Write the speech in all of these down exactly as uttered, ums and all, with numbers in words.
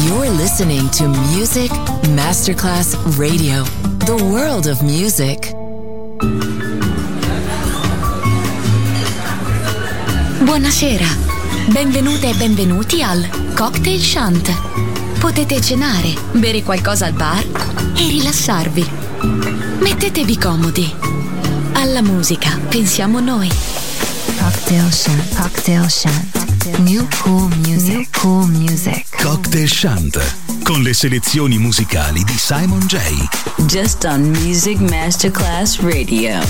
You're listening to Music Masterclass Radio, the world of music. Buonasera, benvenute e benvenuti al Cocktail Shant. Potete cenare, bere qualcosa al bar e rilassarvi. Mettetevi comodi. Alla musica pensiamo noi. Cocktail Shant, Cocktail Shant. New Cool Music, New Cool Music. Cocktail Shant, con le selezioni musicali di Simon J. Just on Music Masterclass Radio.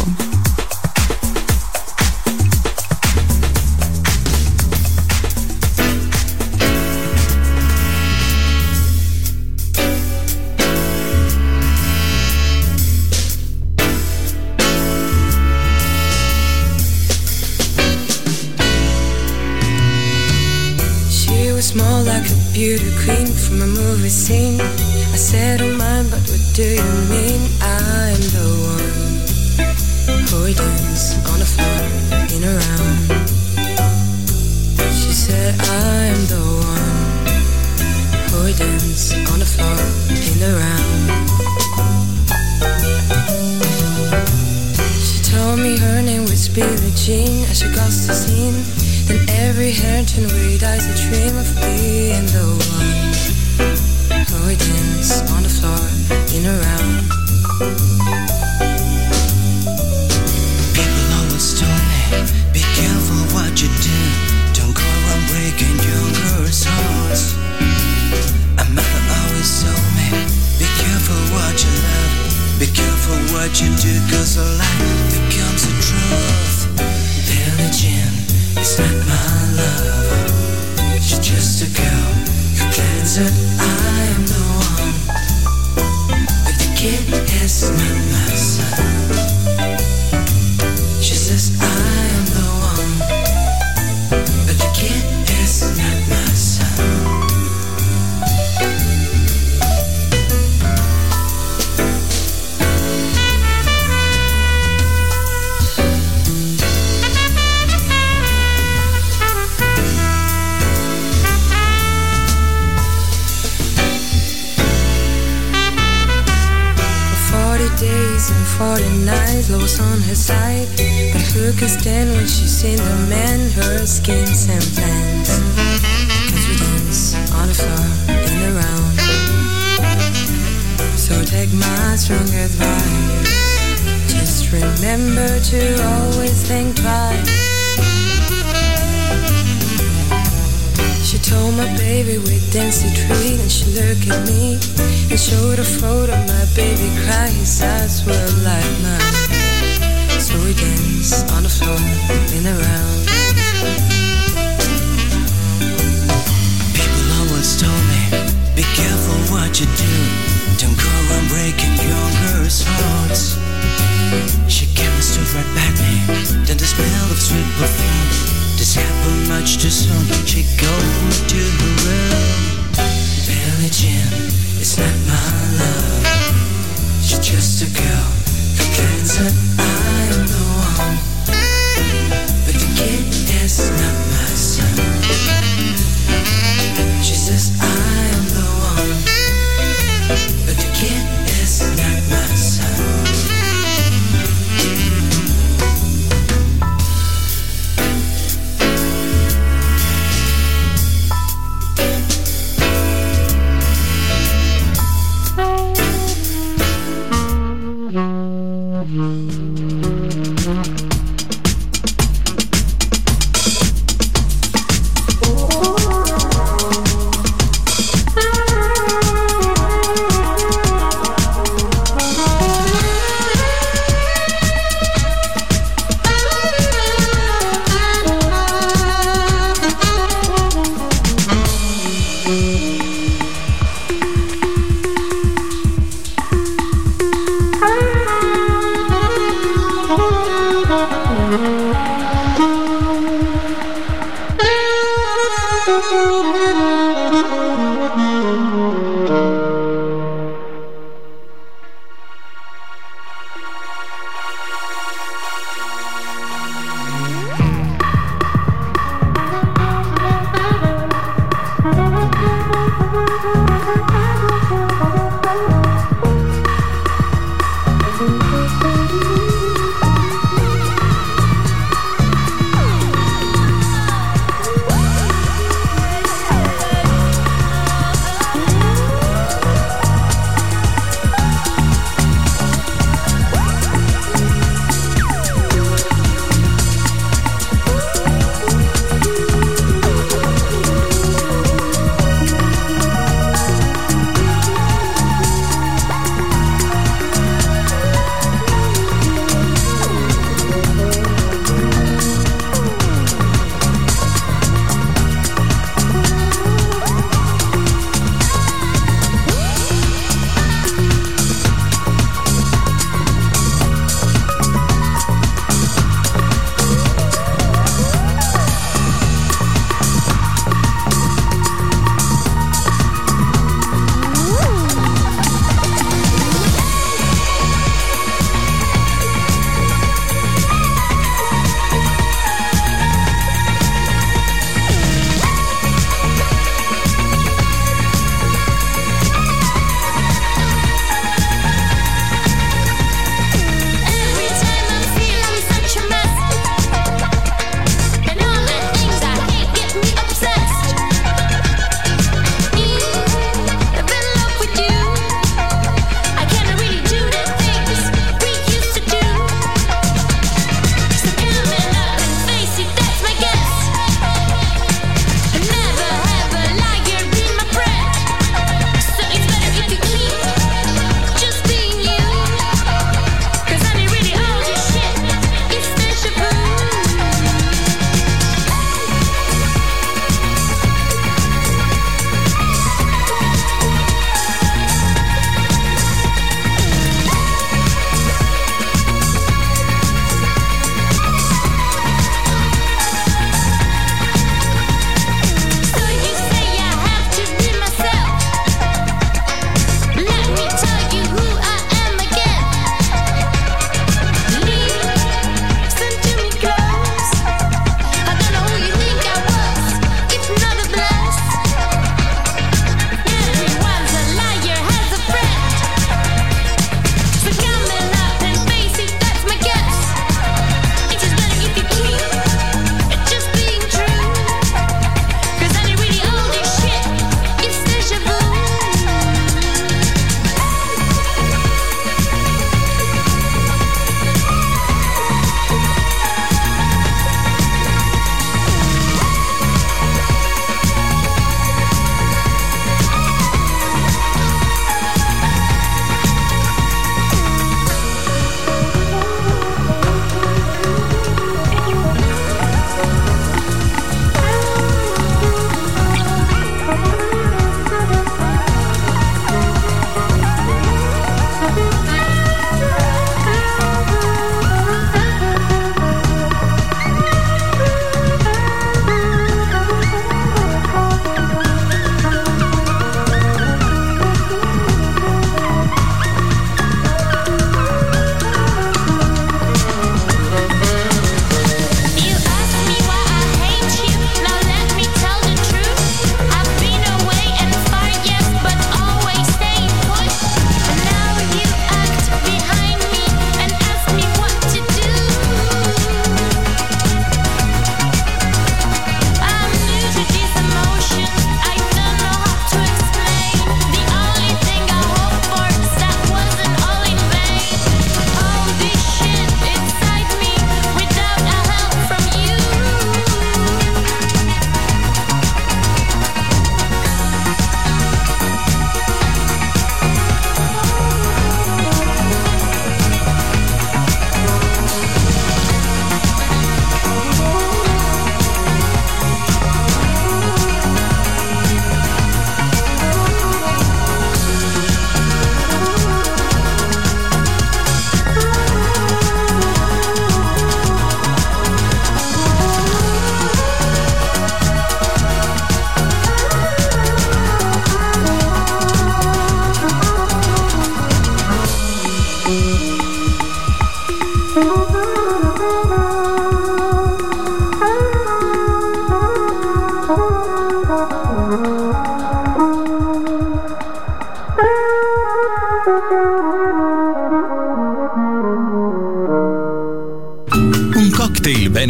Small like a beauty queen from a movie scene. I said, oh mine, but what do you mean? I'm the one who would dance on the floor in a round. She said, I'm the one who would dance on the floor in a round. She told me her name was Billie Jean as she crossed the scene. And every hair turned red eyes a dream of being the one who would dance on the floor in a round. People always told me, be careful what you do. Don't go around breaking young girls' hearts. My mother always told me, be careful what you love. Be careful what you do, cause a lie becomes a truth. Billie Jean, it's not my love. She's just a girl who claims that I am the one, but the kid is not my son. She says I am the one, but the kid is not my son. Days and forty nights, lost on her side. But who could stand when she's seen the man, her skins and plans? Cause we dance on the floor in a round. So take my strong advice, just remember to always think twice. She told my baby we'd dance a treat, and she looked at me and showed a photo of my baby crying. His eyes were like mine. So we danced on the floor in a round. People always told me, be careful what you do. Don't go around breaking young girls' hearts. She came and stood right by me, then the smell of sweet perfume. This happened much too soon. She go to her room. Billie Jean, it's not my love. She's just a girl who claims that I am the one, but the kid is not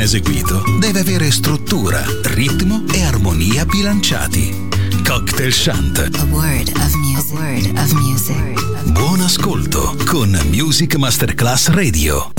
eseguito deve avere struttura, ritmo e armonia bilanciati. Cocktail Chant. A word of music. A word of music. Buon ascolto con Music Masterclass Radio.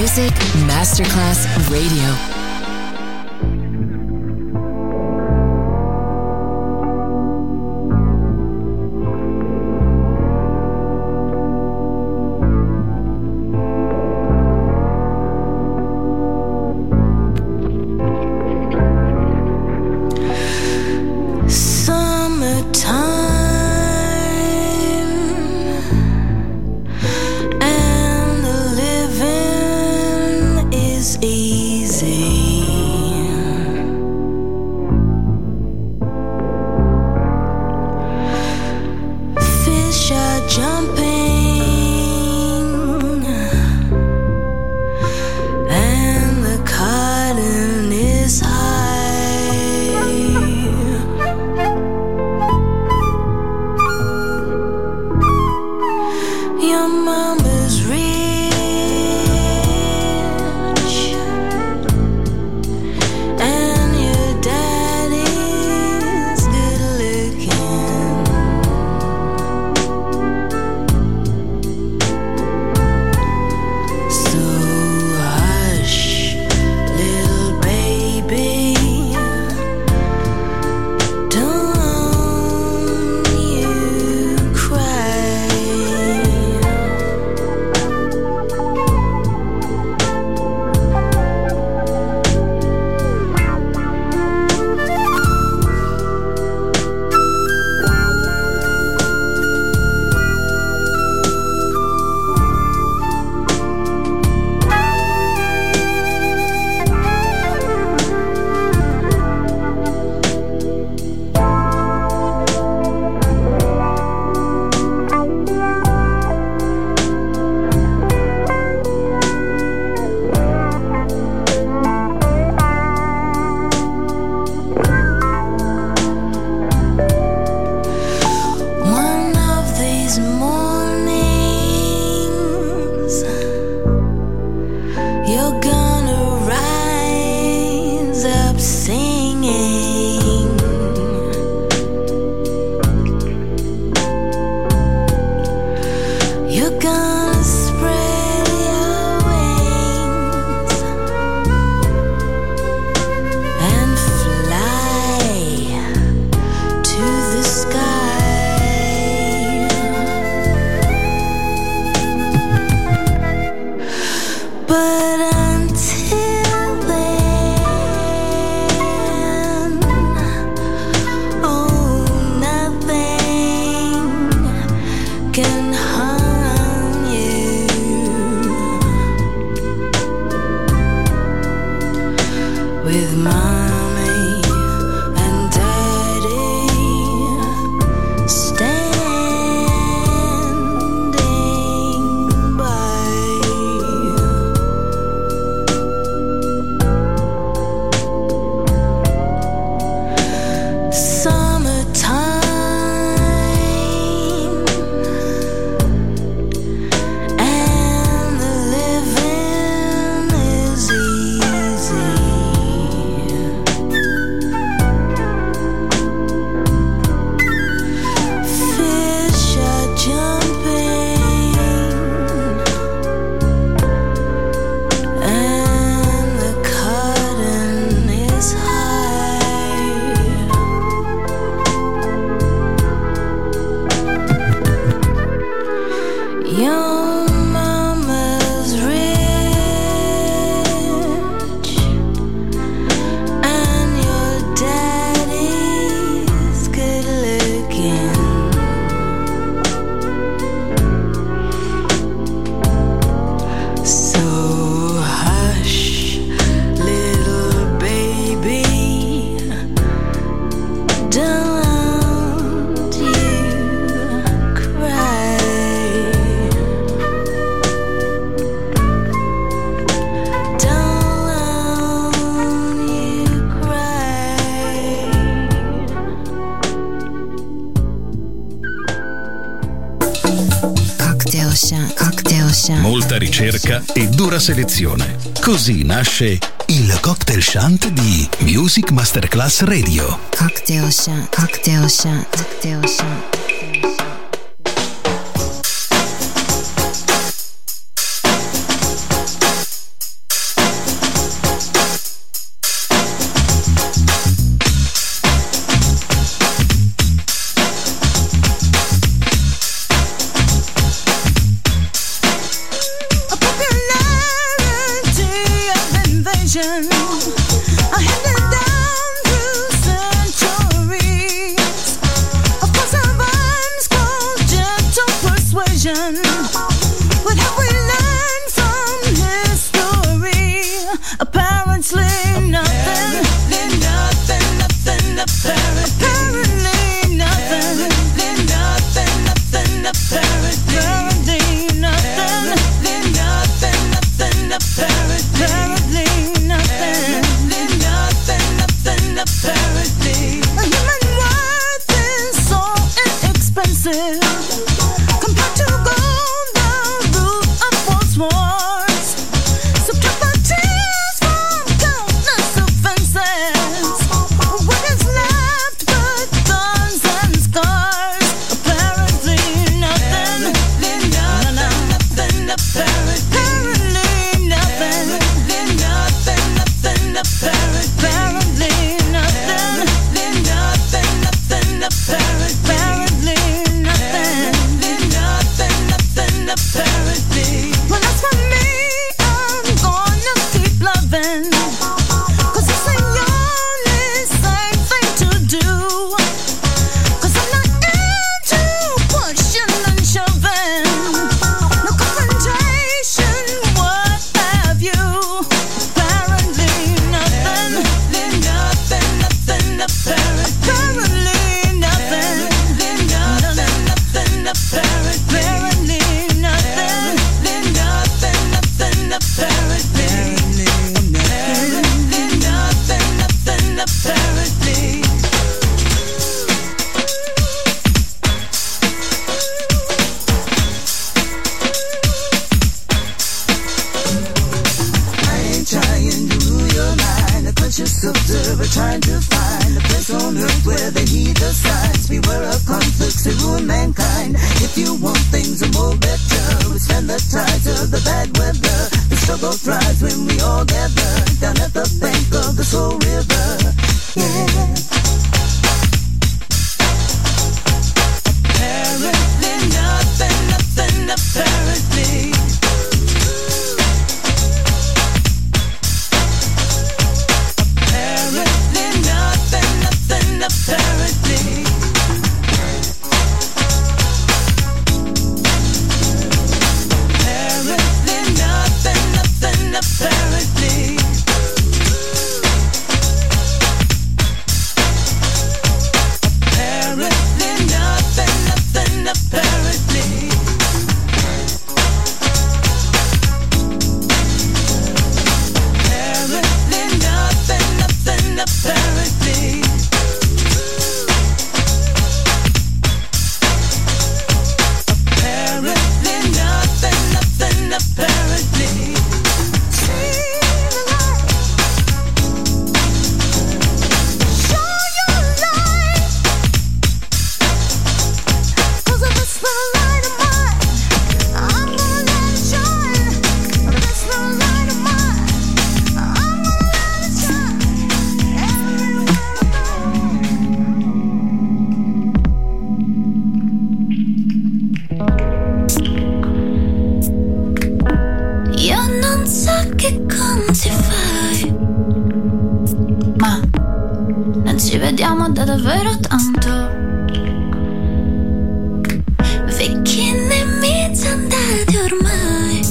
Music Masterclass Radio. Molta ricerca e dura selezione. Così nasce il Cocktail Shant di Music Masterclass Radio. Cocktail Shant, Cocktail Shant, Cocktail Shant. persuasion. I handed down through centuries. Of course our rhymes called gentle persuasion. What have we learned from history? Apparently nothing. Apparently nothing, nothing, apparently nothing. Apparently nothing, nothing, apparently nothing. Apparently nothing, nothing, apparently nothing. Nothing, nothing, apparently. A human worth is so inexpensive compared to gold, the root of false wars. Subtract the tears from countless offenses. What is left but thorns and scars? Apparently nothing. Nothing, nothing, apparently nothing. Nothing, nothing, apparently nothing. Nothing, nothing, apparently nothing. Nothing, nothing, apparently. Well, as for me, I'm gonna keep loving, 'cause it's the only safe thing to do. 'Cause I'm not into pushing and shoving, no confrontation, what have you. Apparently nothing. Nothing, nothing, apparently nothing. Nothing, nothing, apparently nothing. Nothing, nothing, apparently nothing. Nothing, apparently. I ain't trying to rule your mind, a conscious observer trying to find a place on earth where they heed the signs. Beware of conflicts that ruin mankind. If you want things a more better, withstand the tides of the bad weather. The struggle thrives when we all gather down at the bank of the Soul River. Yeah. Apparently nothing, nothing, apparently. Apparently nothing, nothing, apparently. Apparently nothing, nothing, apparently. Apparently nothing, nothing, apparently. Apparently nothing, nothing, apparently. Apparently nothing, nothing, apparently. See the light. Show your light. 'Cause if it's the light of mine, I'm gonna let it shine. If it's the light of mine, I'm gonna let it shine. Everywhere Io non so che conti fai, ma non ci vediamo da davvero tanto. Vecchi nemici andati ormai,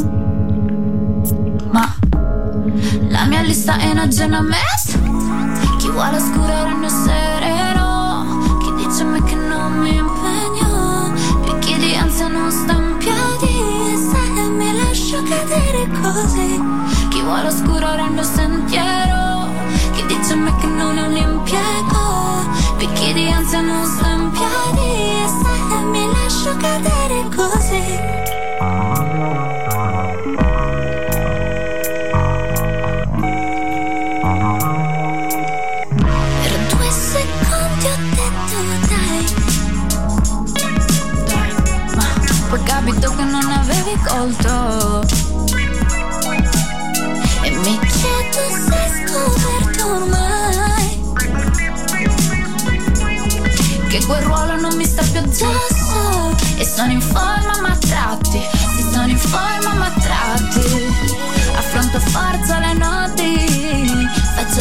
ma la mia lista è in aggiornamento. Chi vuole oscuro rende sereno, chi dice a me che non mi impegno, picchi di ansia non sta in piedi, se mi lascio cadere così. Chi vuole oscuro rende sentiero, chi dice a me che non è un impiego, picchi di ansia non sta in piedi, se mi lascio cadere così. Per due secondi ho detto dai, dai, ma poi capito che non avevi colto. E mi chiedo se hai scoperto ormai che quel ruolo non mi sta più addosso. E sono in forma ma tratti, sì sono in forma ma tratti. Affronto forza le noti,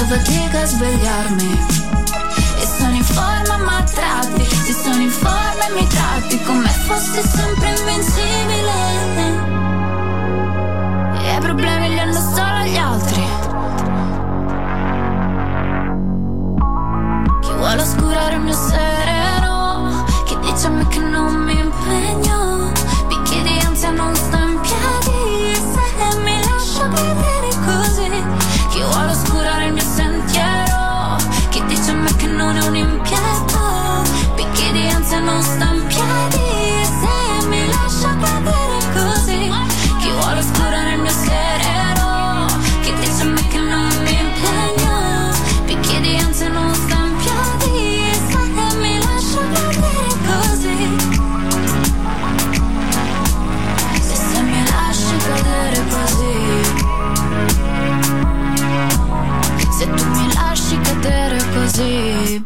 fatica a svegliarmi. E sono in forma ma tratti, se sono in forma e mi tratti come fossi sempre invincibile. E i problemi li hanno solo gli altri. Chi vuole oscurare il mio sereno, chi dice a me che non mi impegno, picchi di ansia non sto in piedi se mi lascio cadere così. Chi vuole oscurare il mio sentiero, chi dice a me che non è un impiego, picchi di ansia non sto in piedi se mi lascio cadere così. Chi vuole oscurare il mio sereno, chi dice a me che non mi impegno, picchi di ansia non sto in piedi se mi lascio cadere così. Se, se mi lasci cadere così, se tu mi lasci cadere così.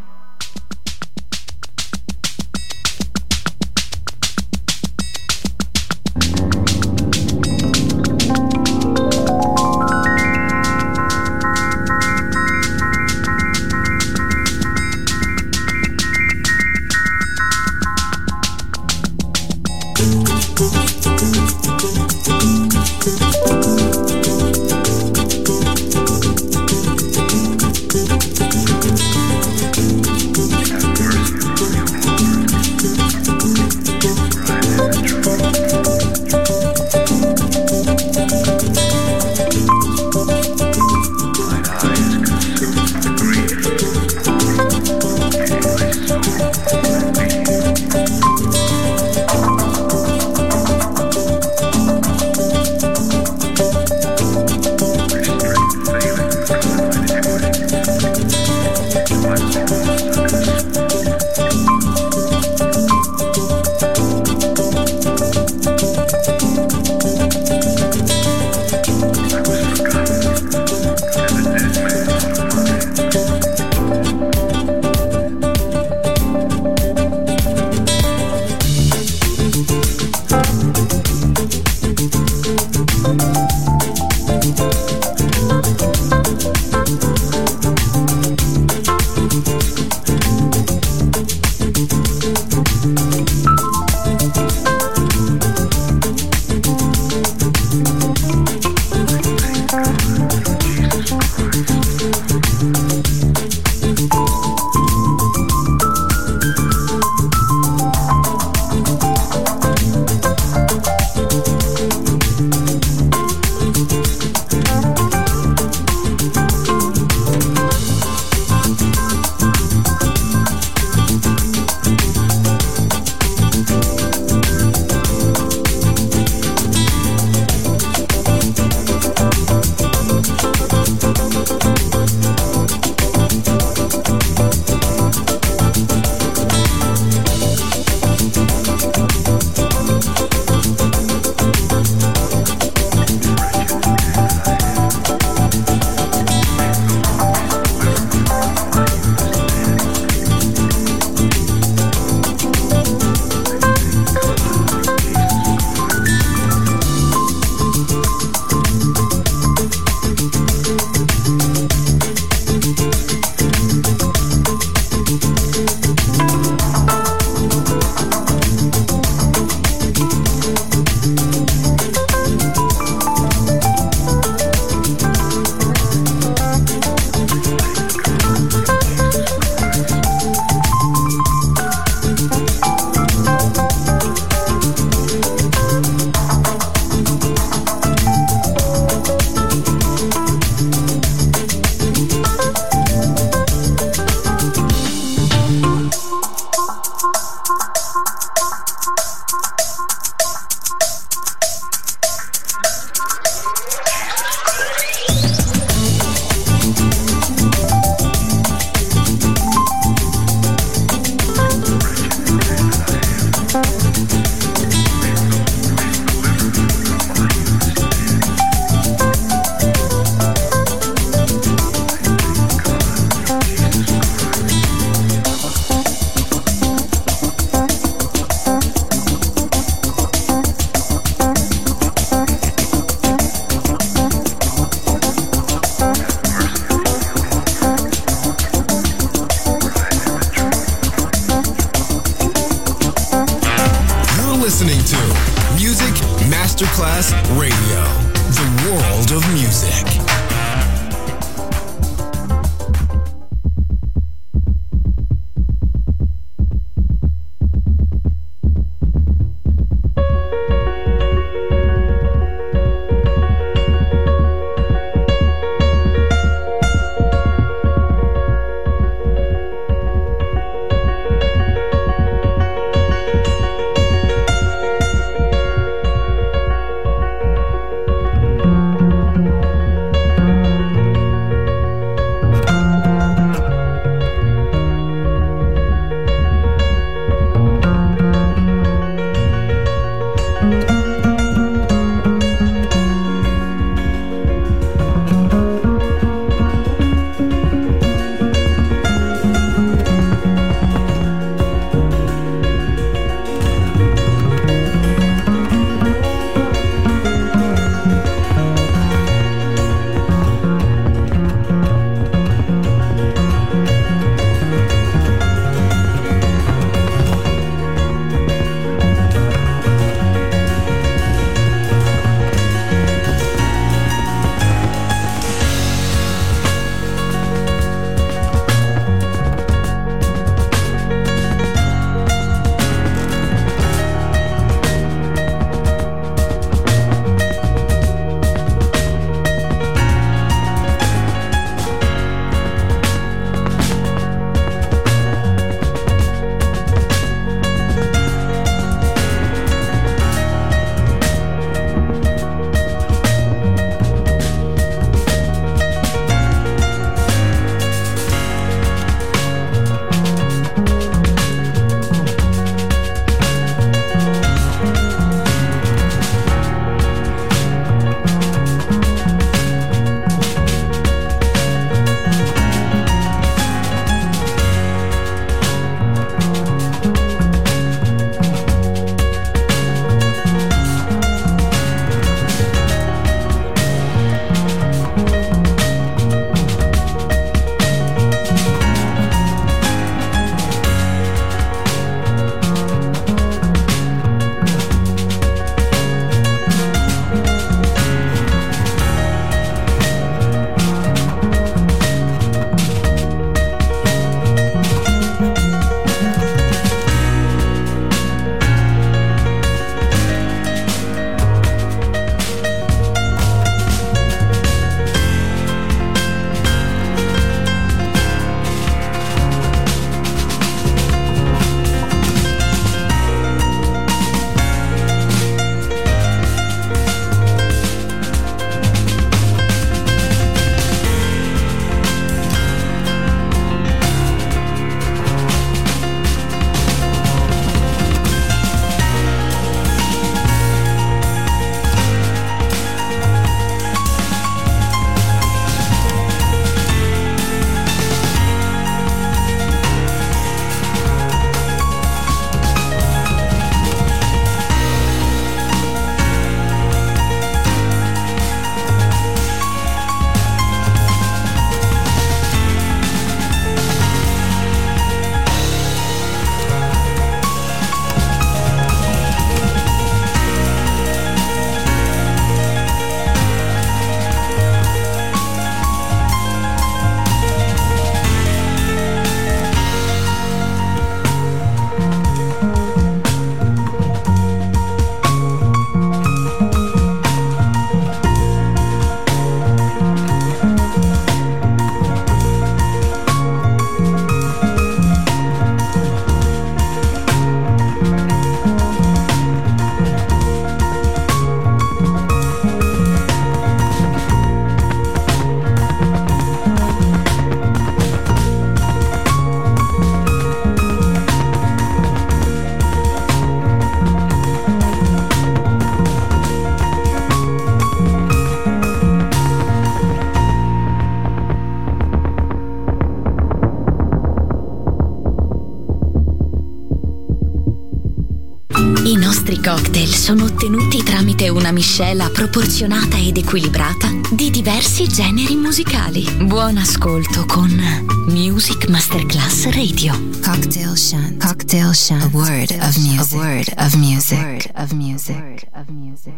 cocktail sono ottenuti tramite una miscela proporzionata ed equilibrata di diversi generi musicali. Buon ascolto con Music Masterclass Radio. Cocktail Shant. Cocktail Shant. A word of music. A word of music. A word of music. A word of music.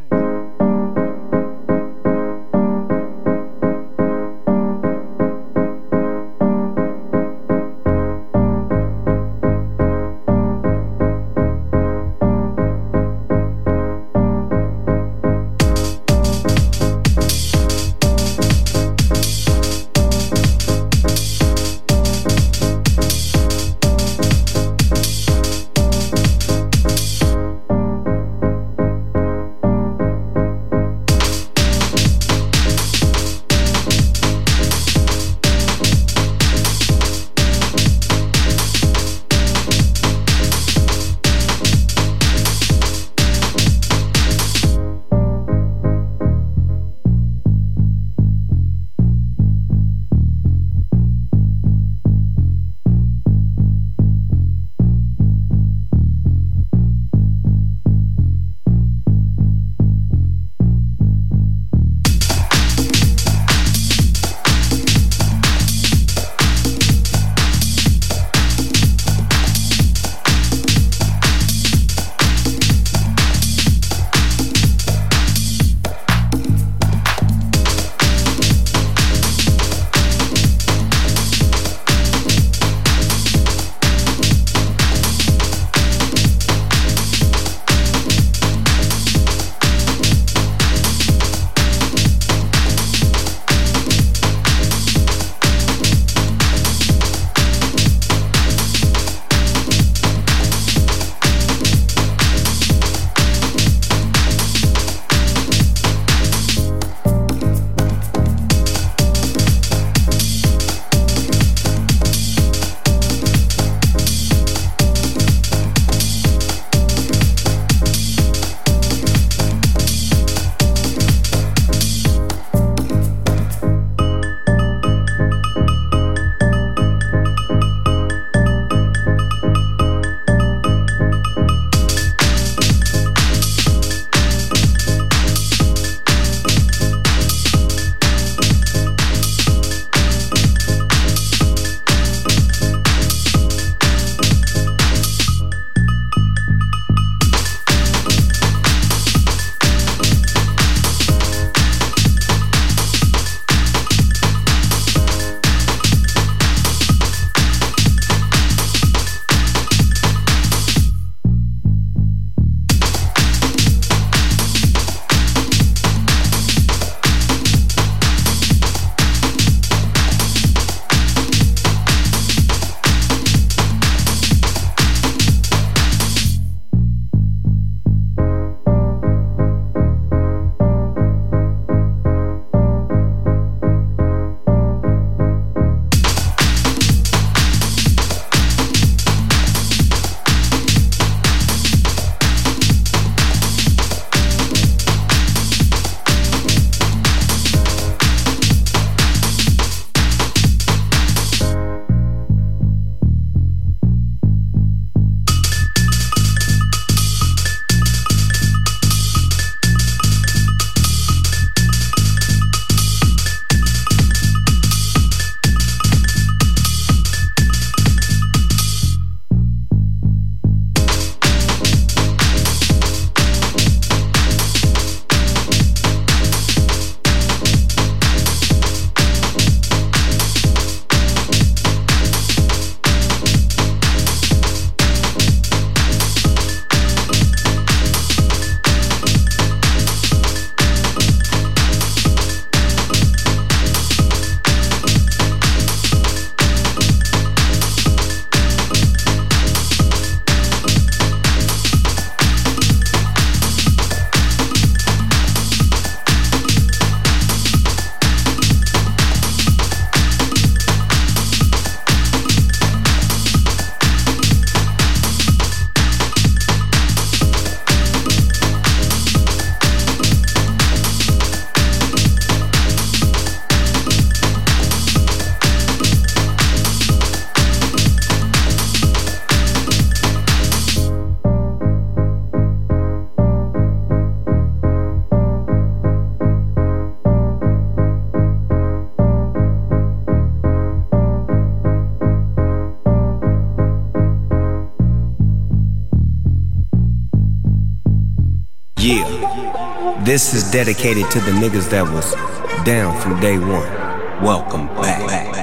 Yeah, this is dedicated to the niggas that was down from day one. Welcome back.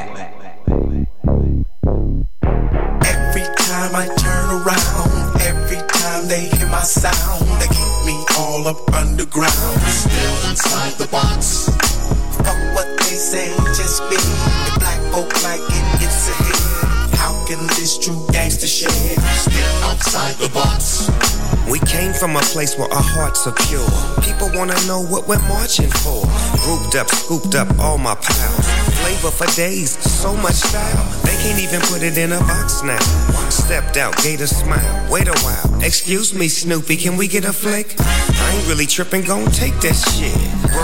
Every time I turn around, every time they hear my sound, they keep me all up underground, still inside the box. Fuck what they say, just be the black folk like it, it's a hit. How can this true gangster shit still outside the box? We came from a place where our hearts are pure. People wanna know what we're marching for. Grouped up, scooped up all my pals. Flavor for days, so much style. They can't even put it in a box now. Stepped out, gave a smile. Wait a while. Excuse me, Snoopy, can we get a flick? I ain't really tripping, gon' take that shit.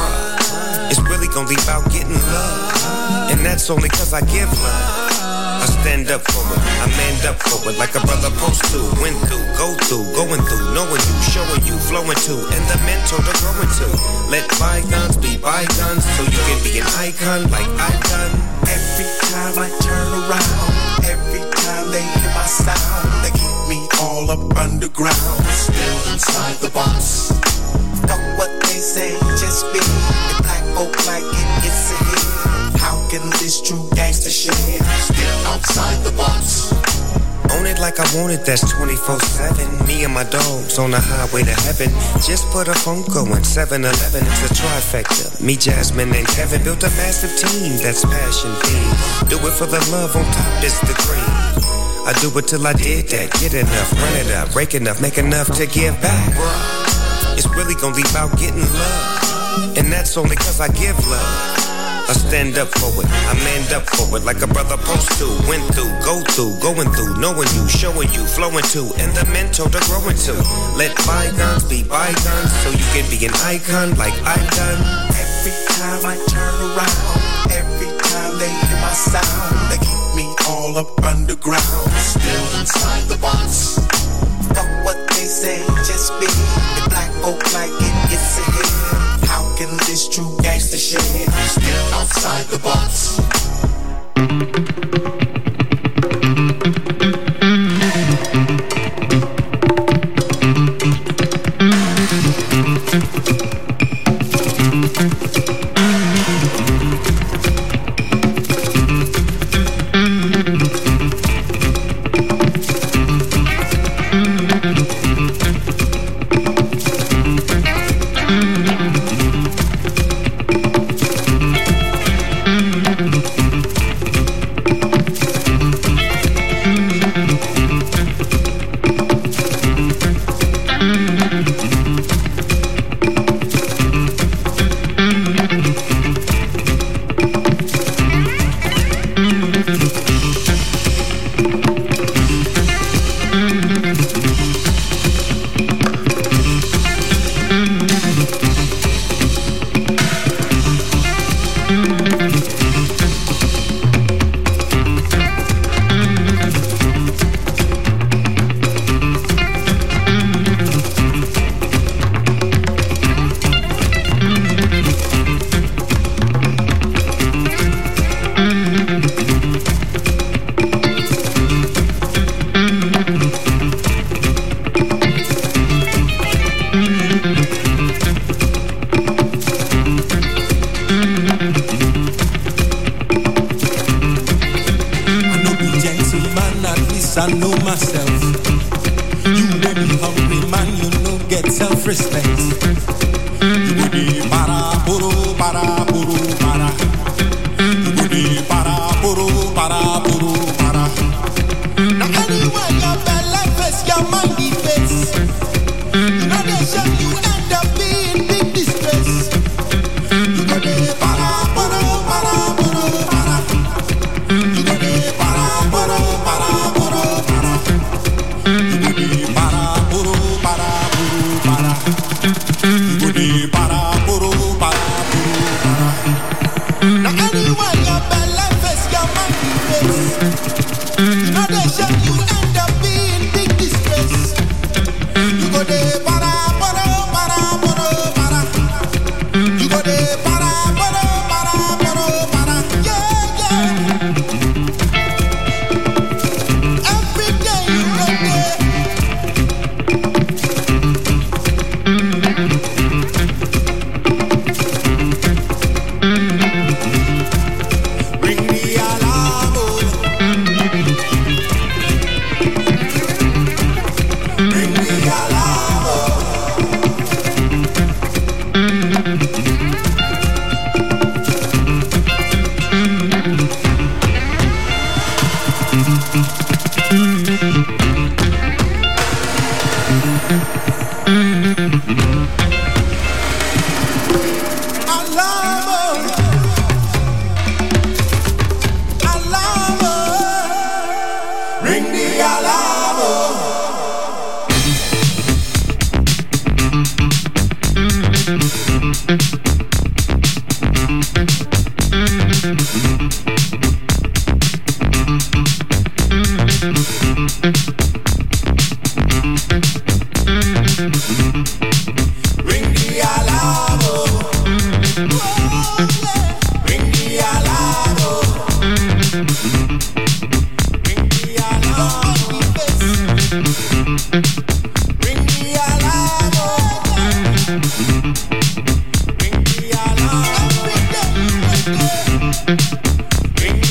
Bruh, it's really gon' be about getting love. And that's only cause I give love. I stand up for it, I manned up for it like a brother supposed to. Went through, go through, going through, knowing you, showing you, flowing to, and the mentor to growing to. Let bygones be bygones so you can be an icon like I've done. Every time I turn around, every time they hear my sound, they keep me all up underground, still inside the box. Fuck what they say, just be the black folk like it, it's a hit. How can this true gangster shit still outside the box? Own it like I want it, that's twenty-four seven. Me and my dogs on the highway to heaven. Just put a phone going, seven eleven, it's a trifecta. Me, Jasmine, and Kevin built a massive team that's passion themed. Do it for the love, on top is the cream. I do it till I did that, get enough, run it up, break enough, make enough to give back. It's really gonna be about getting love, and that's only cause I give love. I stand up for it, I manned up for it like a brother supposed to. Went through, go through, going through, knowing you, showing you, flowing to, and the mentor to growing to. Let bygones be bygones so you can be an icon like I've done. Every time I turn around, every time they hear my sound, they keep me all up underground, still inside the box. Fuck what they say, just be the black folk like it, it's a hit. How can this true gangster shit still outside the box?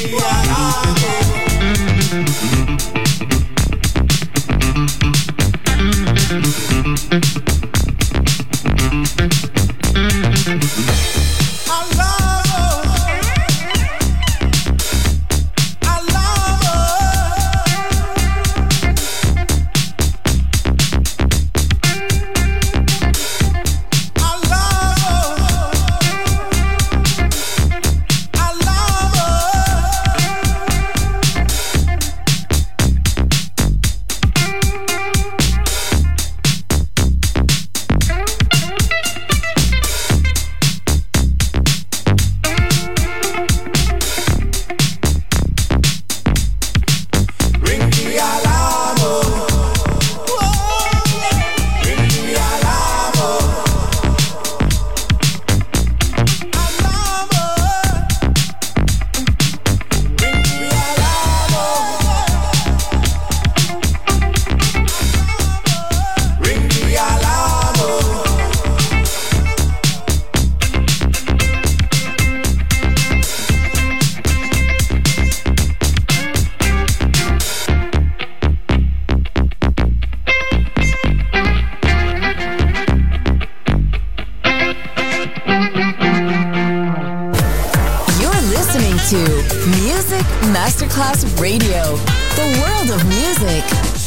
to Music Masterclass Radio, the world of music.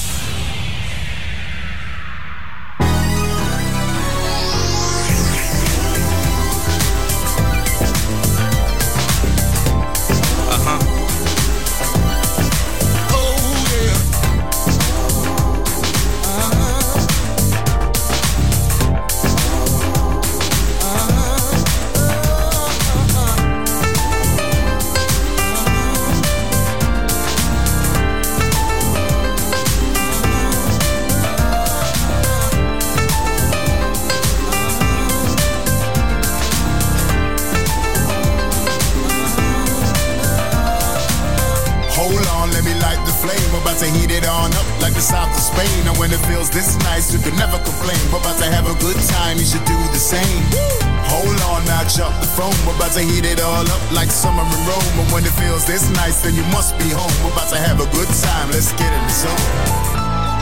This nice, you can never complain. We're about to have a good time, you should do the same. Hold on now, drop the phone. We're about to heat it all up like summer in Rome. And when it feels this nice, then you must be home. We're about to have a good time, let's get in the zone.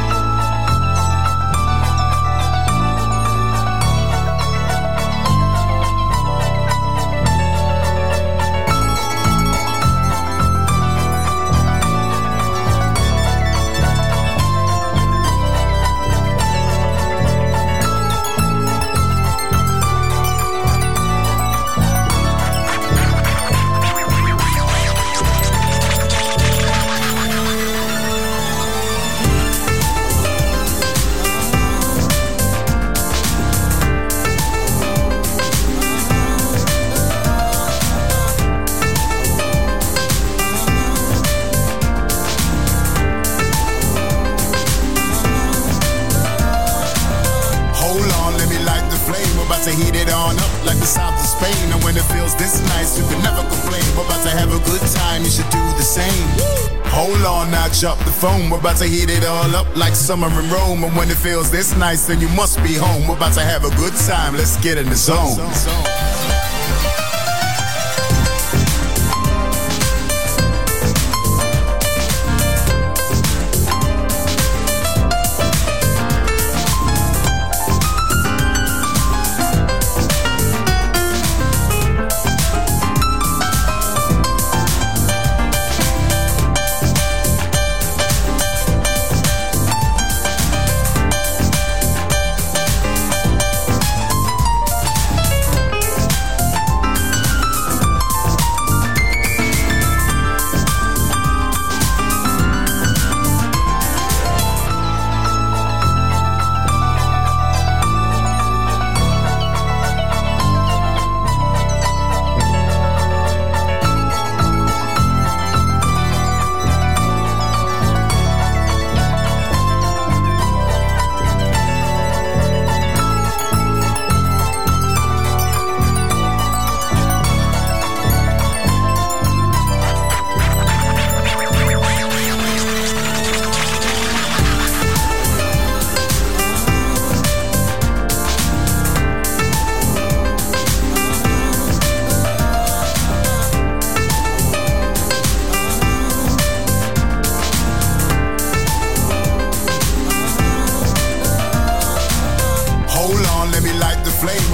Up the phone, we're about to heat it all up like summer in Rome. And when it feels this nice, then you must be home. We're about to have a good time, let's get in the zone.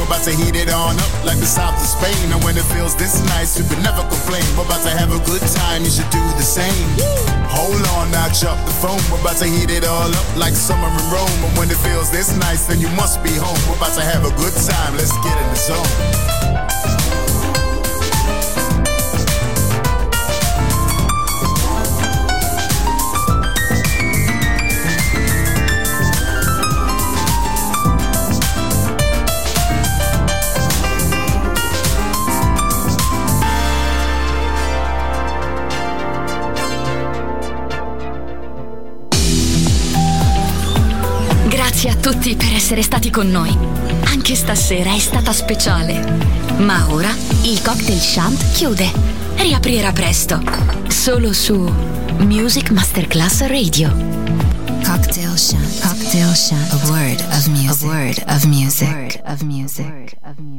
We're about to heat it on up like the south of Spain. And when it feels this nice, you can never complain. We're about to have a good time, you should do the same. Hold on, now drop the phone. We're about to heat it all up like summer in Rome. And when it feels this nice, then you must be home. We're about to have a good time, let's get in the zone. Grazie a tutti per essere stati con noi. Anche stasera è stata speciale. Ma ora il Cocktail Shant chiude. Riaprirà presto. Solo su Music Masterclass Radio. Cocktail Shant. Cocktail Shant. A word of music. A word of music. A word of music.